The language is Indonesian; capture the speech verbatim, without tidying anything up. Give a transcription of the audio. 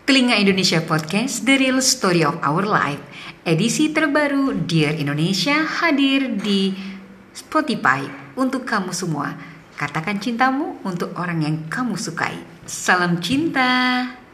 Telinga Indonesia Podcast, The Real Story of Our Life. Edisi terbaru Dear Indonesia hadir di Spotify untuk kamu semua. Katakan cintamu untuk orang yang kamu sukai. Salam cinta.